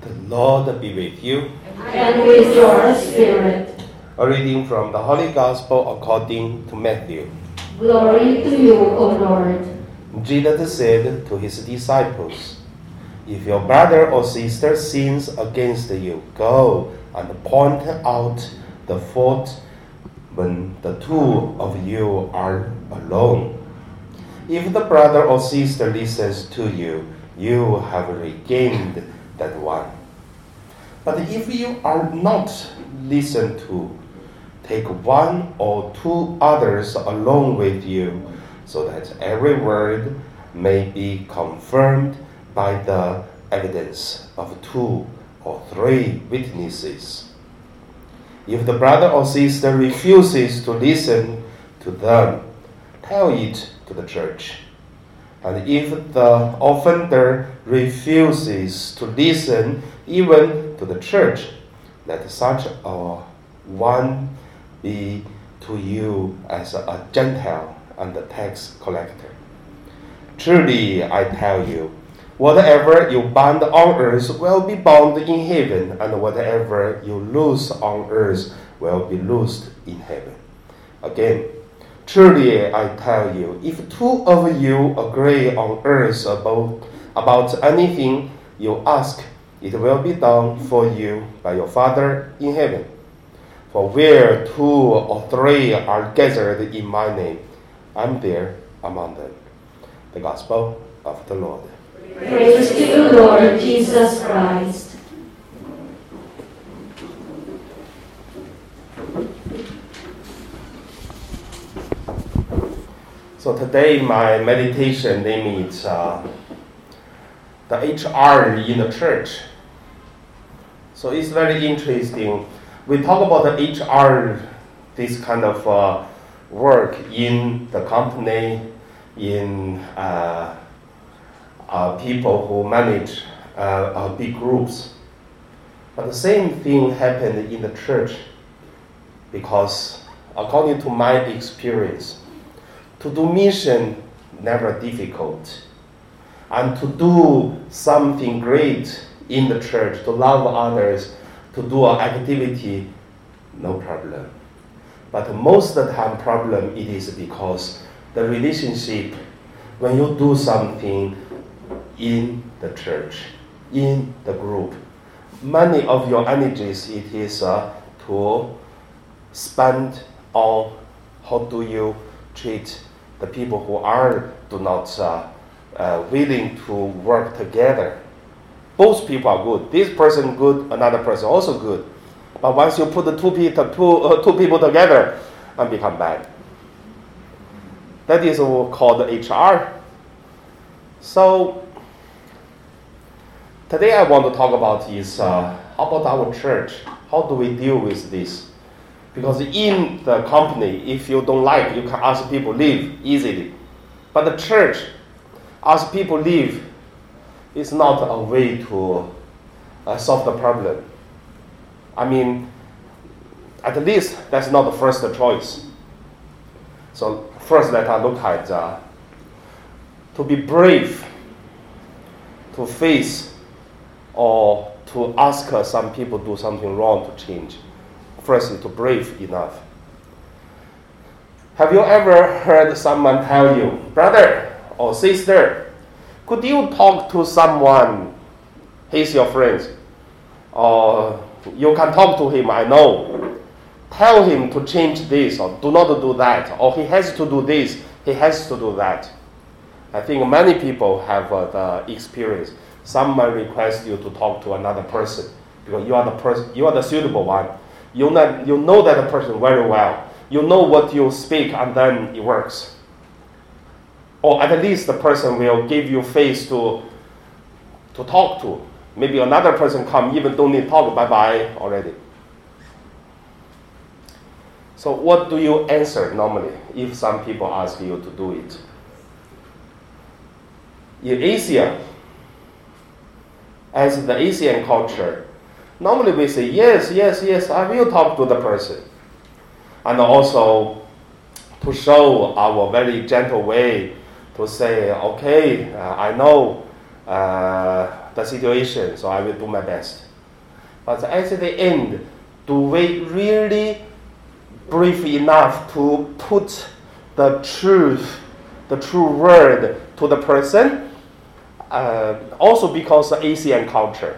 The Lord be with you. And with your spirit. A reading from the Holy Gospel according to Matthew. Glory to you, O Lord. Jesus said to his disciples, "If your brother or sister sins against you, go and point out the fault when the two of you are alone. If the brother or sister listens to you, you have regained that one. But if you are not listened to, take one or two others along with you, so that every word may be confirmed by the evidence of 2 or 3 witnesses. If the brother or sister refuses to listen to them, tell it to the church. And if the offender refuses to listen even to the church, let such a one be to you as a Gentile and a tax collector. Truly, I tell you, whatever you bind on earth will be bound in heaven, and whatever you loose on earth will be loosed in heaven. Again, truly, I tell you, if 2 of you agree on earth about anything you ask, it will be done for you by your Father in heaven. For where 2 or 3 are gathered in my name, I'm there among them." The Gospel of the Lord. Praise to you, Lord Jesus Christ. So today my meditation name is the HR in the church. So it's very interesting. We talk about the HR, this kind of work in the company, in people who manage big groups. But the same thing happened in the church, because according to my experience, to do mission never difficult, and to do something great in the church, to love others, to do an activity, no problem. But most of the time problem it is because the relationship, when you do something in the church, in the group, many of your energies it is to spend on how do you treat the people who do not willing to work together. Both people are good. This person good, another person also good. But once you put the two people together, and become bad. That is called HR. So today I want to talk about is how about our church? How do we deal with this? Because in the company, if you don't like, you can ask people leave easily. But the church, ask people leave, is not a way to solve the problem. I mean, at least that's not the first choice. So first let us look at to be brave, to face or to ask some people do something wrong to change. First, to brave enough. Have you ever heard someone tell you, brother or sister, could you talk to someone? He's your friend. Or you can talk to him, I know. Tell him to change this or do not do that. Or he has to do this, he has to do that. I think many people have the experience. Someone requests you to talk to another person because you are the suitable one. You know that person very well. You know what you speak, and then it works. Or at least the person will give you face to talk to. Maybe another person come, even don't need talk, bye-bye already. So what do you answer normally if some people ask you to do it? In Asia, as the Asian culture, normally we say, yes, I will talk to the person. And also to show our very gentle way to say, okay, I know the situation, so I will do my best. But at the end, do we really brief enough to put the truth, the true word to the person? Also because of Asian culture.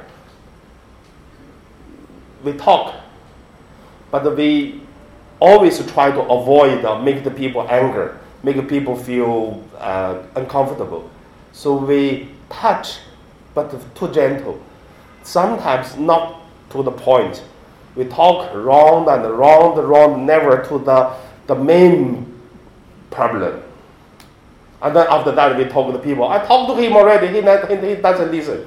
We talk, but we always try to avoid make the people angry, make people feel uncomfortable. So we touch, but too gentle. Sometimes not to the point. We talk round and round, never to the main problem. And then after that, we talk to the people. I talked to him already. He doesn't listen.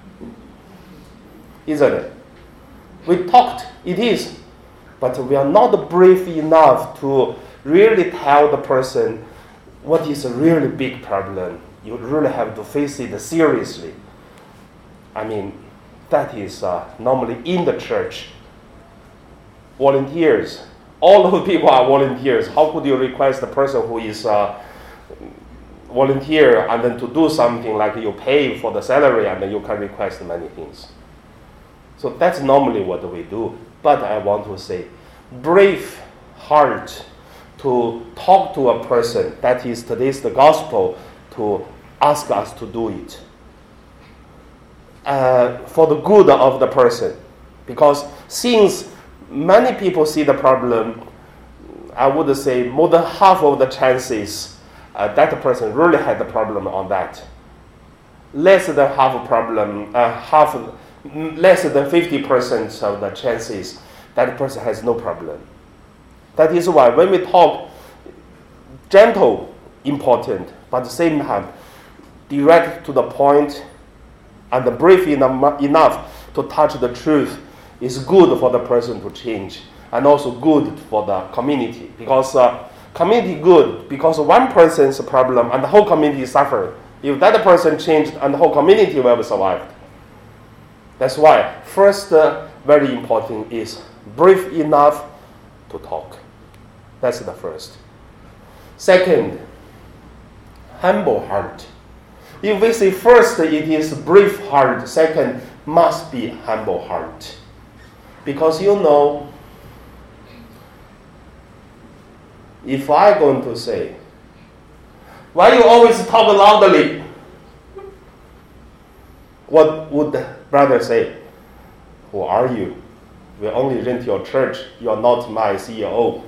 Isn't it? We talked. It is. But we are not brave enough to really tell the person what is a really big problem. You really have to face it seriously. I mean, that is normally in the church. Volunteers. All of the people are volunteers. How could you request the person who is volunteer and then to do something like you pay for the salary and then you can request many things? So that's normally what we do. But I want to say, brave heart to talk to a person. That is today's the gospel to ask us to do it. For the good of the person. Because since many people see the problem, I would say more than half of the chances that person really had the problem on that. Less than half a problem, less than 50% of the chances that person has no problem. That is why when we talk, gentle, important, but at the same time, direct to the point and brief enough to touch the truth is good for the person to change and also good for the community. Because community good because one person's problem and the whole community suffer. If that person changed and the whole community will be survived. That's why first very important is brief enough to talk. That's the first. Second, humble heart. If we say first it is brief heart, second must be humble heart. Because you know, if I'm going to say, why you always talk loudly? What would the brother say? Who are you? We only rent your church. You are not my CEO.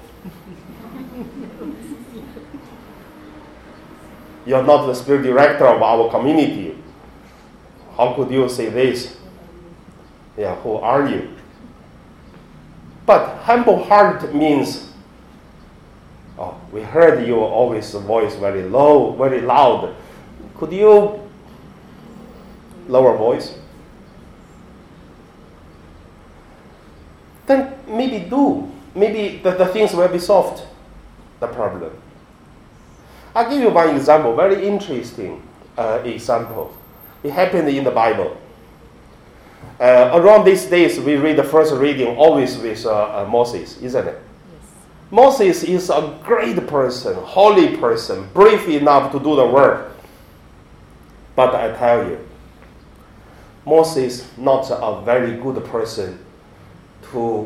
You are not the spiritual director of our community. How could you say this? Yeah, who are you? But humble heart means, oh, we heard you always voice very low, very loud. Could you lower voice? Then maybe do. Maybe the things will be solved, the problem. I'll give you one example, very interesting example. It happened in the Bible. Around these days, we read the first reading always with Moses, isn't it? Yes. Moses is a great person, holy person, brave enough to do the work. But I tell you, Moses not a very good person to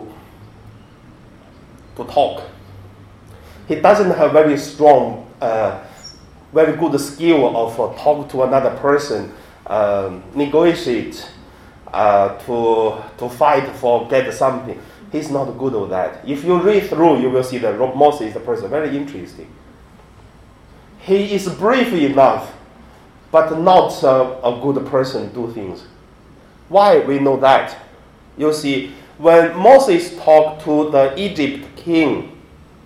talk. He doesn't have very strong, very good skill of talk to another person, negotiate, to fight for get something. He's not good at that. If you read through, you will see that Moses is a person very interesting. He is brave enough, but not a good person to do things. Why we know that? You see, when Moses talked to the Egypt king,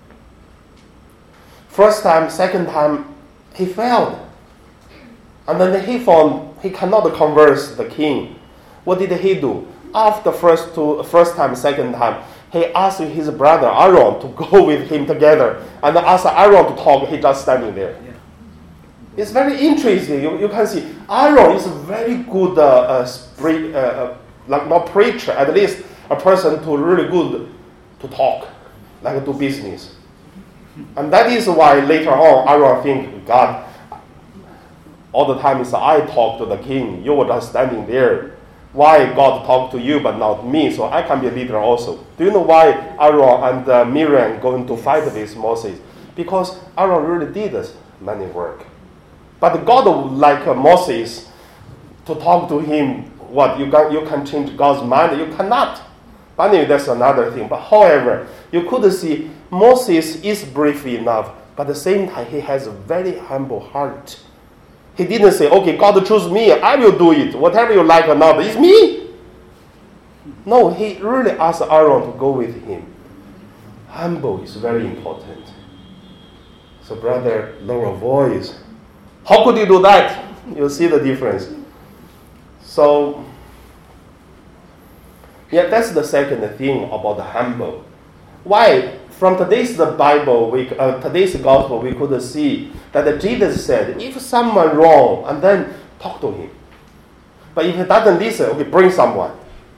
first time, second time, he failed. And then he found he cannot converse the king. What did he do? After first time, second time, he asked his brother Aaron to go with him together. And asked Aaron to talk, he just standing there. Yeah. It's very interesting. You can see Aaron is a very good, like not preacher, at least a person to really good to talk, like do business. And that is why later on Aaron think, God, All the time is I talk to the king. You were just standing there. Why God talked to you but not me? So I can be a leader also. Do you know why Aaron and Miriam going to fight with Moses? Because Aaron really did many work. But God would like Moses to talk to him. What, you can change God's mind? You cannot. But anyway, that's another thing. But however, you could see Moses is brave enough, but at the same time, he has a very humble heart. He didn't say, okay, God choose me, I will do it. Whatever you like or not, it's me. No, he really asked Aaron to go with him. Humble is very important. So brother, lower voice. How could you do that? You'll see the difference. So, yeah, that's the second thing about the humble. Why? From today's Bible, today's gospel, we could see that Jesus said, if someone wrong, and then talk to him. But if he doesn't listen, okay, bring someone.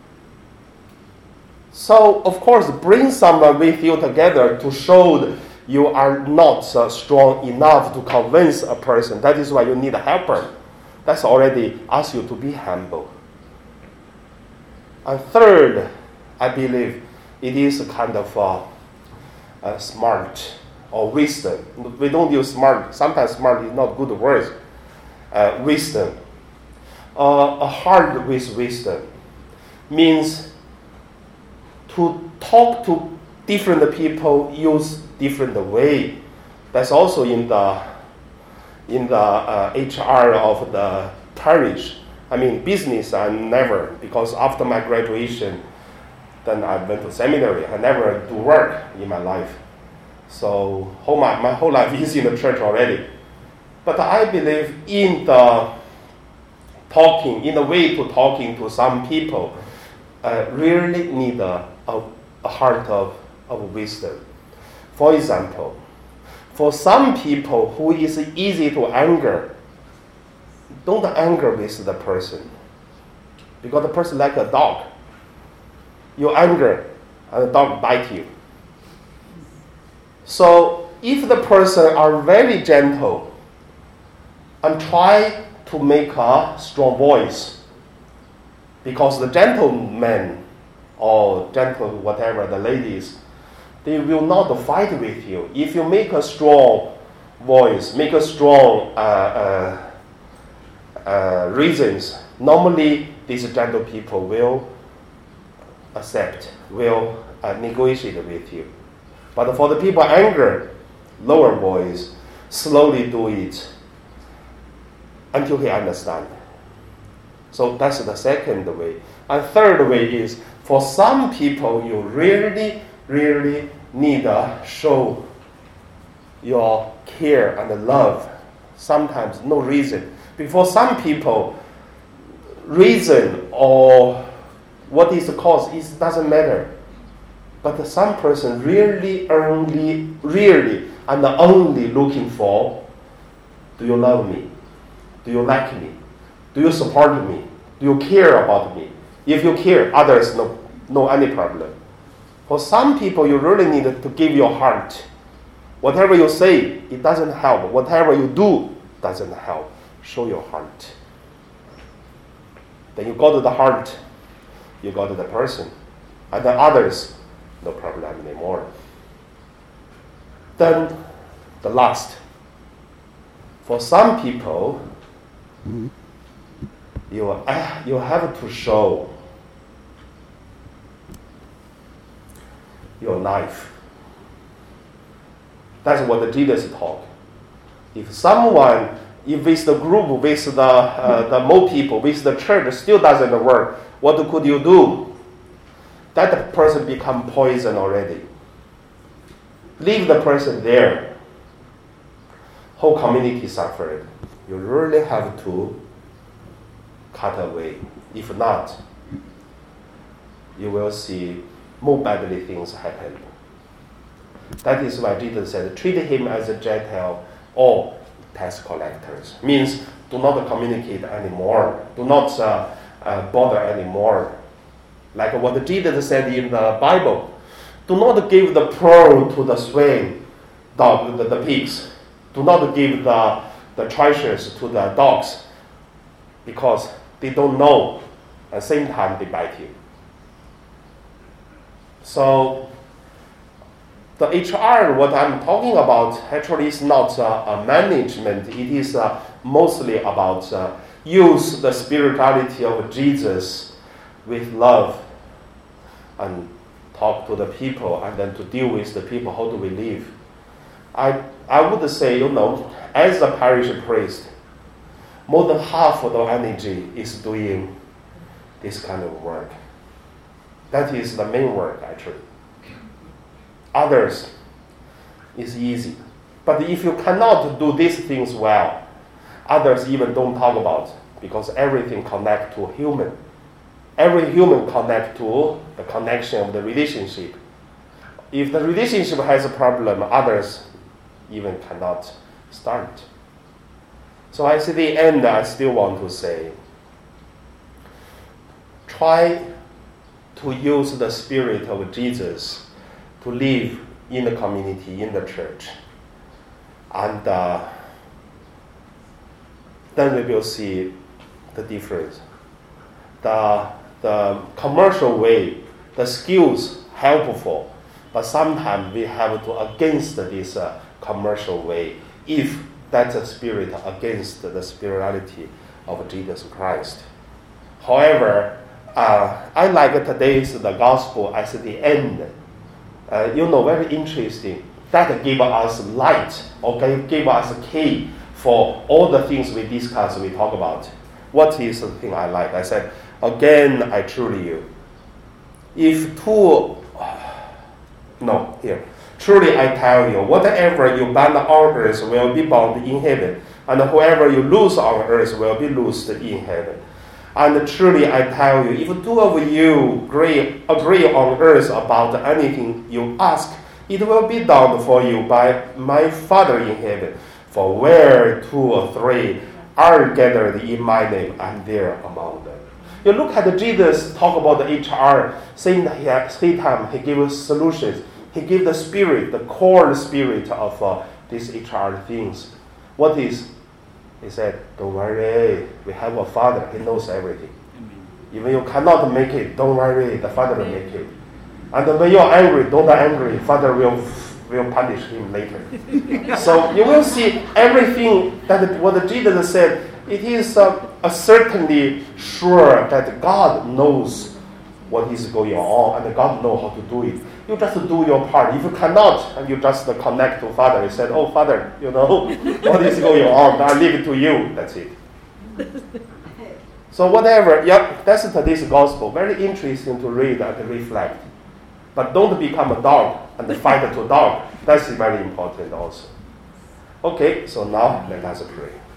So, of course, bring someone with you together to show that you are not strong enough to convince a person. That is why you need a helper. That's already asked you to be humble. And third, I believe it is a kind of smart or wisdom. We don't use smart. Sometimes smart is not good word. Wisdom. A heart with wisdom means to talk to different people, use different way. That's also in the HR of the parish. I mean, business I never, because after my graduation, then I went to seminary. I never do work in my life. So my whole life is in the church already. But I believe in the way to talking to some people, really need a heart of wisdom. For example, for some people who is easy to anger, don't anger with the person. Because the person like a dog. You anger, and the dog bites you. So if the person are very gentle and try to make a strong voice, because the gentleman or gentle whatever the ladies, they will not fight with you. If you make a strong voice, make a strong reasons, normally these gentle people will accept, will negotiate with you. But for the people anger, lower voice, slowly do it until he understands. So that's the second way. And third way is, for some people, you really need to show your care and love. Sometimes no reason. Because some people, reason or what is the cause, it doesn't matter. But some person really and only looking for, do you love me? Do you like me? Do you support me? Do you care about me? If you care, others no any problem. For some people, you really need to give your heart. Whatever you say, it doesn't help. Whatever you do doesn't help. Show your heart. Then you go to the heart, you go to the person. And the others, no problem anymore. Then the last. For some people, you have to show your life. That's what Jesus taught. If with the group, with the more people, with the church still doesn't work, what could you do? That person become poison already. Leave the person there. Whole community suffered. You really have to cut away. If not, you will see more badly things happen. That is why Jesus said, treat him as a Gentile or tax collectors. Means do not communicate anymore. Do not bother anymore. Like what Jesus said in the Bible. Do not give the pearl to the swine, the pigs. Do not give the the treasures to the dogs because they don't know. At the same time, they bite you. So the HR, what I'm talking about, actually is not a management. It is mostly about use the spirituality of Jesus with love and talk to the people, and then to deal with the people. How do we live? I would say, as a parish priest, more than half of the energy is doing this kind of work. That is the main work, actually. Others is easy. But if you cannot do these things well, others even don't talk about, because everything connects to human. Every human connects to the connection of the relationship. If the relationship has a problem, others even cannot start. So at the end, I still want to say, try to use the spirit of Jesus to live in the community, in the church. And then we will see the difference. The commercial way, the skills helpful, but sometimes we have to against this commercial way if that's a spirit against the spirituality of Jesus Christ. However, I like today's the gospel at the end. Very interesting. That gave us light, gave us a key for all the things we discuss, we talk about. What is the thing I like? I said, again, I truly you. Truly I tell you, whatever you bind on earth will be bound in heaven, and whoever you loose on earth will be loosed in heaven. And truly I tell you, if two of you agree on earth about anything you ask, it will be done for you by my Father in heaven. For where 2 or 3 are gathered in my name, I'm there among them. You look at Jesus talk about the HR, same time he gave us solutions. He gave the spirit, the core spirit of these HR things. What is? He said, don't worry, we have a Father, He knows everything. Even you cannot make it, don't worry, the Father will make it. And when you're angry, don't be angry, Father will punish him later. So you will see everything that what Jesus said, it is certainly sure that God knows what is going on, and God knows how to do it. You just do your part. If you cannot, and you just connect to Father, you said, oh, Father, what is going on? I leave it to you. That's it. So whatever, that's today's gospel. Very interesting to read and reflect. But don't become a dog and fight to dog. That's very important also. Okay, so now let us pray.